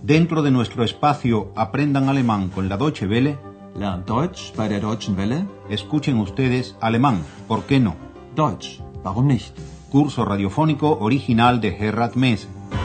Dentro de nuestro espacio Aprendan Alemán con la Deutsche Welle, Lernt Deutsch bei der Deutschen Welle. escuchen ustedes alemán, ¿por qué no? Deutsch, warum nicht? Curso radiofónico original de Gerhard Mese.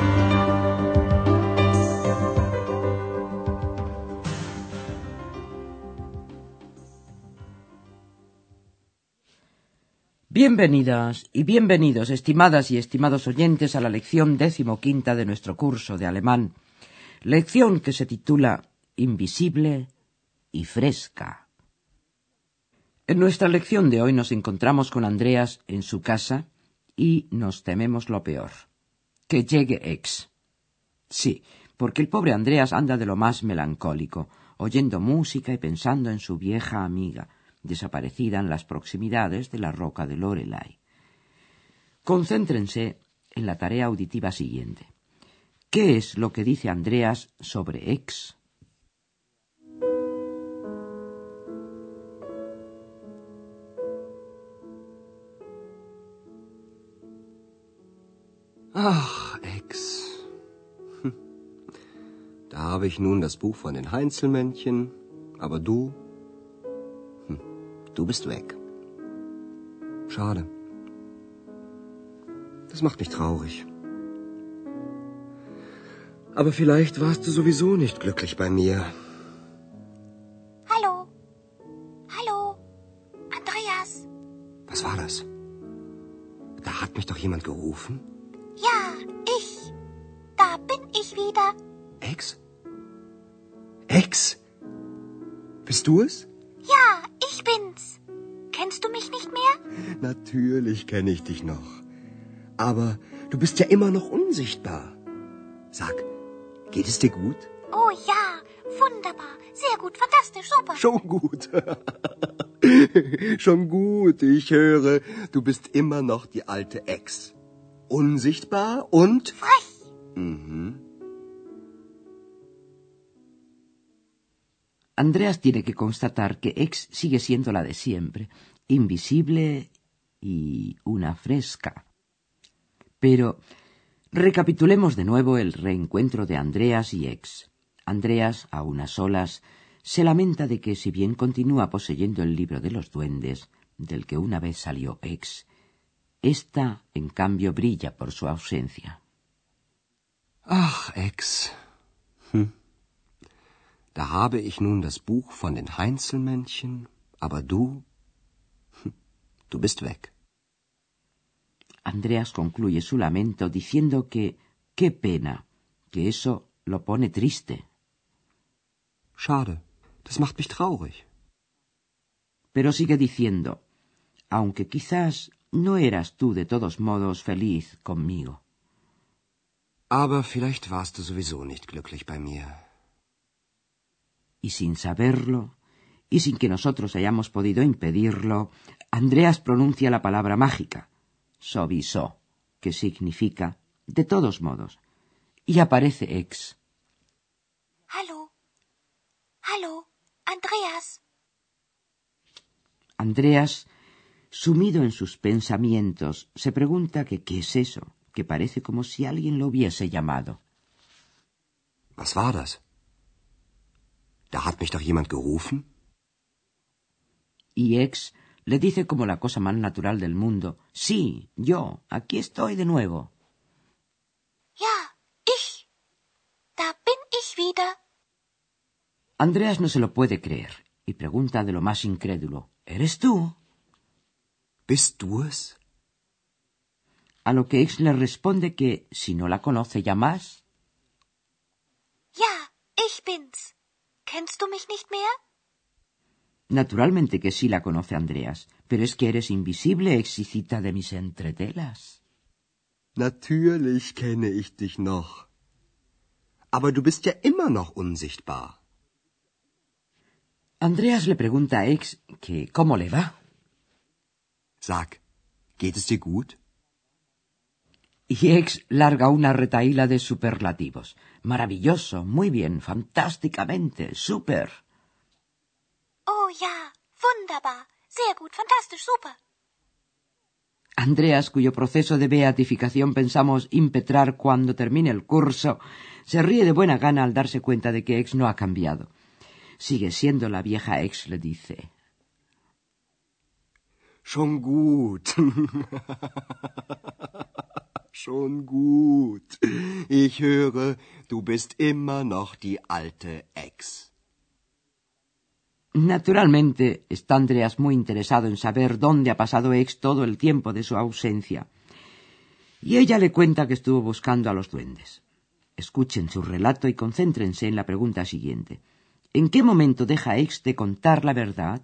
Bienvenidas y bienvenidos, estimadas y estimados oyentes, a la lección 15ª de nuestro curso de alemán. Lección que se titula Invisible y fresca. En nuestra lección de hoy nos encontramos con Andreas en su casa y nos tememos lo peor. Que llegue X. Sí, porque el pobre Andreas anda de lo más melancólico, oyendo música y pensando en su vieja amiga, desaparecida en las proximidades de la roca de Loreley. Concéntrense en la tarea auditiva siguiente. ¿Qué es lo que dice Andreas sobre X? Ach, Ex. Da habe ich nun das Buch von den Heinzelmännchen, aber du bist weg. Schade. Das macht mich traurig. Aber vielleicht warst du sowieso nicht glücklich bei mir. Hallo? Hallo? Andreas? Was war das? Da hat mich doch jemand gerufen. Ja, ich. Da bin ich wieder. Ex? Ex? Bist du es? Ja, ich bin's. Kennst du mich nicht mehr? Natürlich kenne ich dich noch. Aber du bist ja immer noch unsichtbar. Sag, geht es dir gut? Oh ja, wunderbar. Sehr gut, fantastisch, super. Schon gut. Schon gut, ich höre, du bist immer noch die alte Ex. Unsichtbar und... Frech. Andreas tiene que constatar que X sigue siendo la de siempre, invisible y una fresca. Pero recapitulemos de nuevo el reencuentro de Andreas y X. Andreas, a unas solas, se lamenta de que, si bien continúa poseyendo el libro de los duendes, del que una vez salió X, ésta, en cambio, brilla por su ausencia. Ach, Ex. Da habe ich nun das Buch von den Heinzelmännchen, aber du bist weg. Andreas concluye su lamento diciendo que qué pena, que eso lo pone triste. Schade, das macht mich traurig. Pero sigue diciendo, aunque quizás no eras tú de todos modos feliz conmigo. Aber vielleicht warst du sowieso nicht glücklich bei mir. Y sin saberlo, y sin que nosotros hayamos podido impedirlo, Andreas pronuncia la palabra mágica, sowieso, que significa de todos modos, y aparece X. Hallo? Hallo? Andreas? Andreas, sumido en sus pensamientos, se pregunta que qué es eso, que parece como si alguien lo hubiese llamado. Was war das? Da hat mich doch jemand gerufen. Y X le dice como la cosa más natural del mundo, sí, yo, aquí estoy de nuevo. Ja, ich. Da bin ich wieder. Andreas no se lo puede creer y pregunta de lo más incrédulo, ¿eres tú? Bist du es? A lo que X le responde que, si no la conoce ya más. Ja, ich bin's. Kennst du mich nicht mehr? Naturalmente que sí la conoce Andreas, pero es que eres invisible, Exicita de mis entretelas. Natürlich kenne ich dich noch. Aber du bist ja immer noch unsichtbar. Andreas le pregunta a X que cómo le va. Sag, geht es dir gut? Y X larga una retahíla de superlativos. Maravilloso, muy bien, fantásticamente, súper. Oh ja, wunderbar. Sehr gut, fantastisch, super. Andreas, cuyo proceso de beatificación pensamos impetrar cuando termine el curso, se ríe de buena gana al darse cuenta de que X no ha cambiado. Sigue siendo la vieja X, le dice. Schon gut. Schon gut. Ich höre, du bist immer noch die alte Ex. Naturalmente, está Andreas muy interesado en saber dónde ha pasado X todo el tiempo de su ausencia. Y ella le cuenta que estuvo buscando a los duendes. Escuchen su relato y concéntrense en la pregunta siguiente. ¿En qué momento deja X de contar la verdad?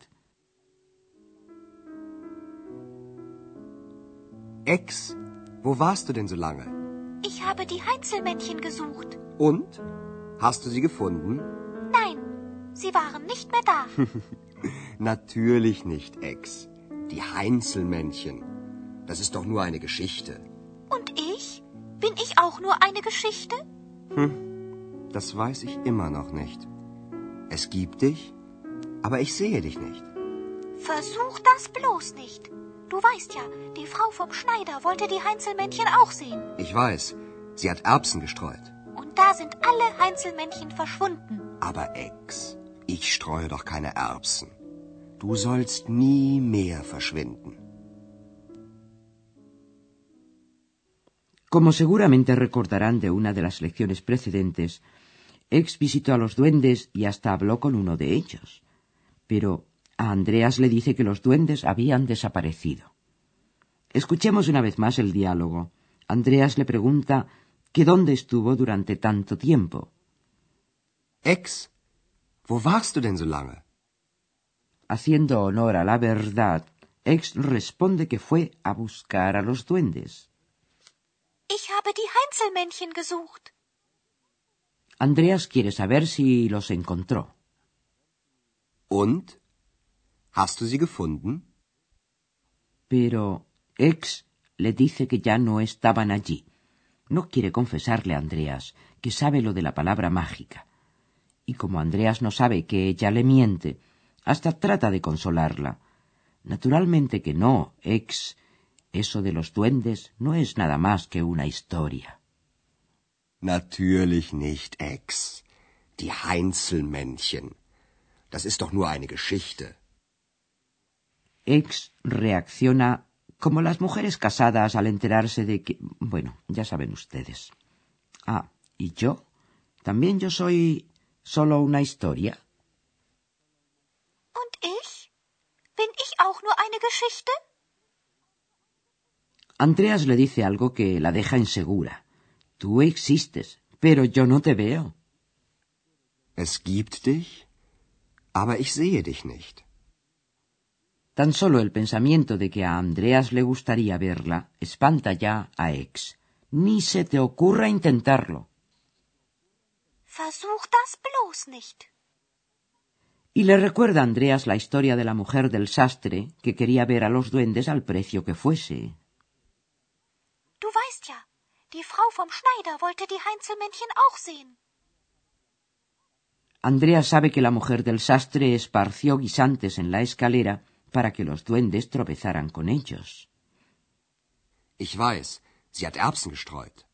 Ex, wo warst du denn so lange? Ich habe die Heinzelmännchen gesucht. Und? Hast du sie gefunden? Nein, sie waren nicht mehr da. Natürlich nicht, Ex. Die Heinzelmännchen. Das ist doch nur eine Geschichte. Und ich? Bin ich auch nur eine Geschichte? Das weiß ich immer noch nicht. Es gibt dich, aber ich sehe dich nicht. Versuch das bloß nicht. Du weißt ja, die Frau vom Schneider wollte die Heinzelmännchen auch sehen. Ich weiß, sie hat Erbsen gestreut. Und da sind alle Heinzelmännchen verschwunden. Aber Ex, ich streue doch keine Erbsen. Du sollst nie mehr verschwinden. Como seguramente recordarán de una de las lecciones precedentes, X visitó a los duendes y hasta habló con uno de ellos. Pero a Andreas le dice que los duendes habían desaparecido. Escuchemos una vez más el diálogo. Andreas le pregunta que dónde estuvo durante tanto tiempo. Ex, wo warst du denn so lange? Haciendo honor a la verdad, X responde que fue a buscar a los duendes. Ich habe die Heinzelmännchen gesucht. Andreas quiere saber si los encontró. Und? Hast du sie gefunden? Pero X le dice que ya no estaban allí. No quiere confesarle a Andreas que sabe lo de la palabra mágica. Y como Andreas no sabe que ella le miente, hasta trata de consolarla. Naturalmente que no, X. Eso de los duendes no es nada más que una historia. Natürlich nicht, Ex. Die Heinzelmännchen. Das ist doch nur eine Geschichte. X reacciona como las mujeres casadas al enterarse de que... Bueno, ya saben ustedes. Ah, ¿y yo? ¿También yo soy solo una historia? Und ich? Bin ich auch nur eine Geschichte? Andreas le dice algo que la deja insegura. Tú existes, pero yo no te veo. Es gibt dich, aber ich sehe dich nicht. Tan solo el pensamiento de que a Andreas le gustaría verla espanta ya a X. Ni se te ocurra intentarlo. Versuch das bloß nicht. Y le recuerda a Andreas la historia de la mujer del sastre que quería ver a los duendes al precio que fuese. Du weißt ja, die Frau vom Schneider wollte die Heinzelmännchen auch sehen. Andreas sabe que la mujer del sastre esparció guisantes en la escalera para que los duendes tropezaran con ellos. Ich weiß, sie hat Erbsen gestreut.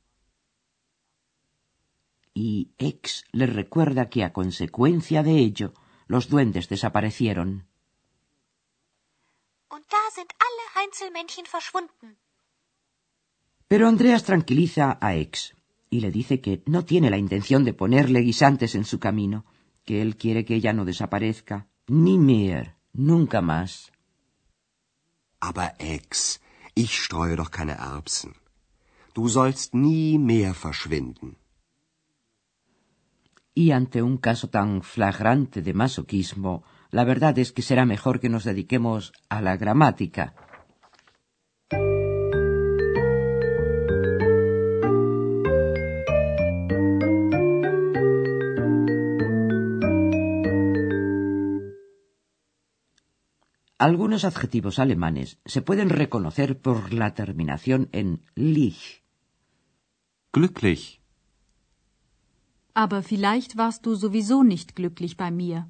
Y X le recuerda que a consecuencia de ello, los duendes desaparecieron. Und da sind alle Heinzelmännchen verschwunden. Pero Andreas tranquiliza a X y le dice que no tiene la intención de ponerle guisantes en su camino, que él quiere que ella no desaparezca, ni mehr, nunca más. Aber Ex, ich streue doch keine Erbsen. Du sollst nie mehr verschwinden. Y ante un caso tan flagrante de masoquismo, la verdad es que será mejor que nos dediquemos a la gramática. Algunos adjetivos alemanes se pueden reconocer por la terminación en lich. Glücklich. Aber vielleicht warst du sowieso nicht glücklich bei mir.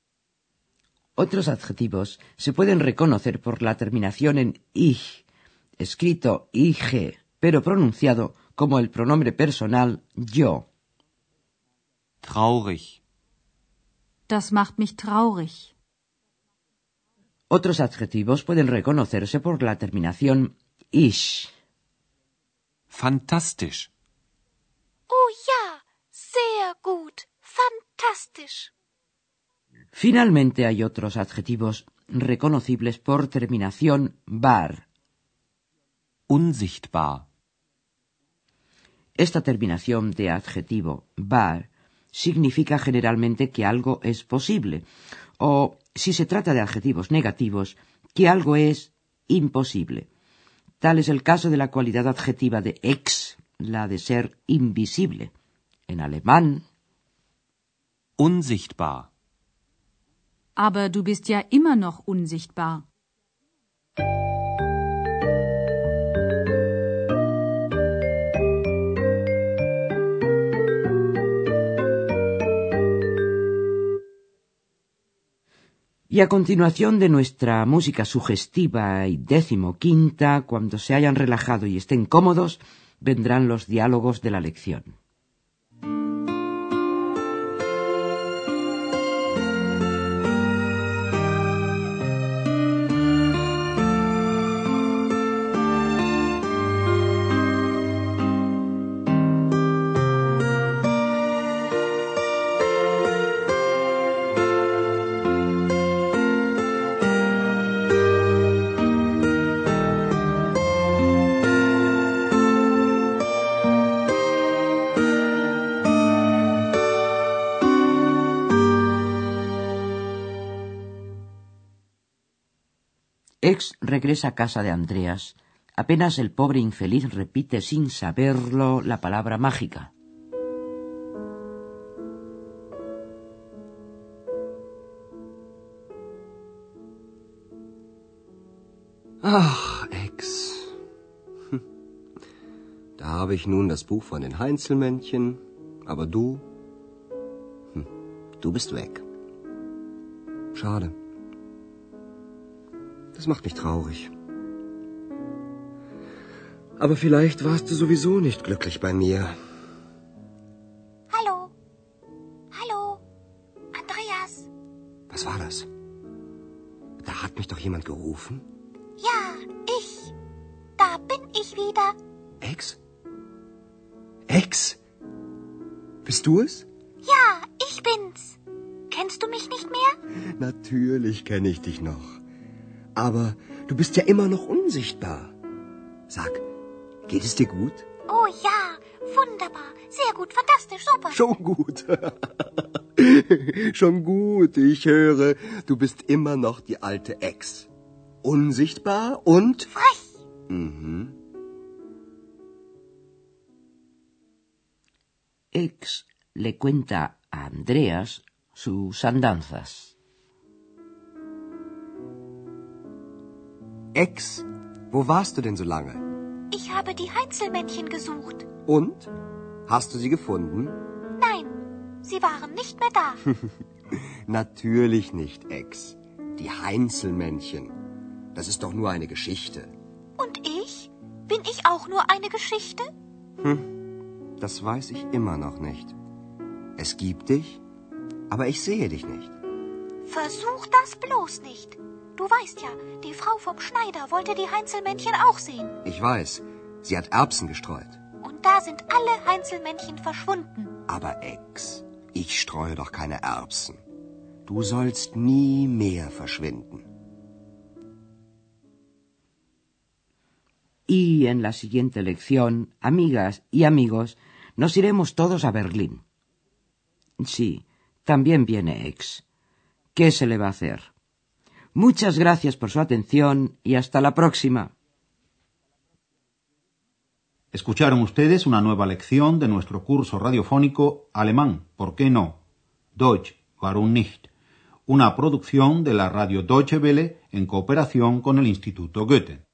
Otros adjetivos se pueden reconocer por la terminación en ich. escrito IG, pero pronunciado como el pronombre personal yo. Traurig. Das macht mich traurig. Otros adjetivos pueden reconocerse por la terminación ish. Fantastisch. Oh ja, sehr gut, fantastisch. Finalmente hay otros adjetivos reconocibles por terminación bar. Unsichtbar. Esta terminación de adjetivo bar significa generalmente que algo es posible, o, si se trata de adjetivos negativos, que algo es imposible. Tal es el caso de la cualidad adjetiva de ex, la de ser invisible. En alemán, Unsichtbar. Aber du bist ja immer noch unsichtbar. y a continuación de nuestra música sugestiva y 15ª, cuando se hayan relajado y estén cómodos, vendrán los diálogos de la lección. Ex regresa a casa de Andreas. Apenas el pobre infeliz repite sin saberlo la palabra mágica. Ach, Ex. Da habe ich nun das Buch von den Heinzelmännchen, aber du bist weg. Schade. Das macht mich traurig. Aber vielleicht warst du sowieso nicht glücklich bei mir. Hallo? Hallo? Andreas? Was war das? Da hat mich doch jemand gerufen. Ja, ich. Da bin ich wieder. Ex? Ex? Bist du es? Ja, ich bin's. Kennst du mich nicht mehr? Natürlich kenne ich dich noch. Aber du bist ja immer noch unsichtbar. Sag, geht es dir gut? Oh ja, wunderbar. Sehr gut, fantastisch, super. Schon gut. Schon gut, ich höre, du bist immer noch die alte Ex. Unsichtbar und... Frech. Mhm. Ex le cuenta a Andreas sus andanzas. Ex, wo warst du denn so lange? Ich habe die Heinzelmännchen gesucht. Und? Hast du sie gefunden? Nein, sie waren nicht mehr da. Natürlich nicht, Ex. Die Heinzelmännchen. Das ist doch nur eine Geschichte. Und ich? Bin ich auch nur eine Geschichte? Das weiß ich immer noch nicht. Es gibt dich, aber ich sehe dich nicht. Versuch das bloß nicht. Du weißt ja, die Frau vom Schneider wollte die Heinzelmännchen auch sehen. Ich weiß, sie hat Erbsen gestreut. Und da sind alle Heinzelmännchen verschwunden. Aber Ex, ich streue doch keine Erbsen. Du sollst nie mehr verschwinden. Y en la siguiente lección, amigas y amigos, nos iremos todos a Berlín. Sí, también viene Ex. ¿Qué se le va a hacer? Muchas gracias por su atención y hasta la próxima. Escucharon ustedes una nueva lección de nuestro curso radiofónico Alemán, ¿por qué no? Deutsch, warum nicht? Una producción de la radio Deutsche Welle en cooperación con el Instituto Goethe.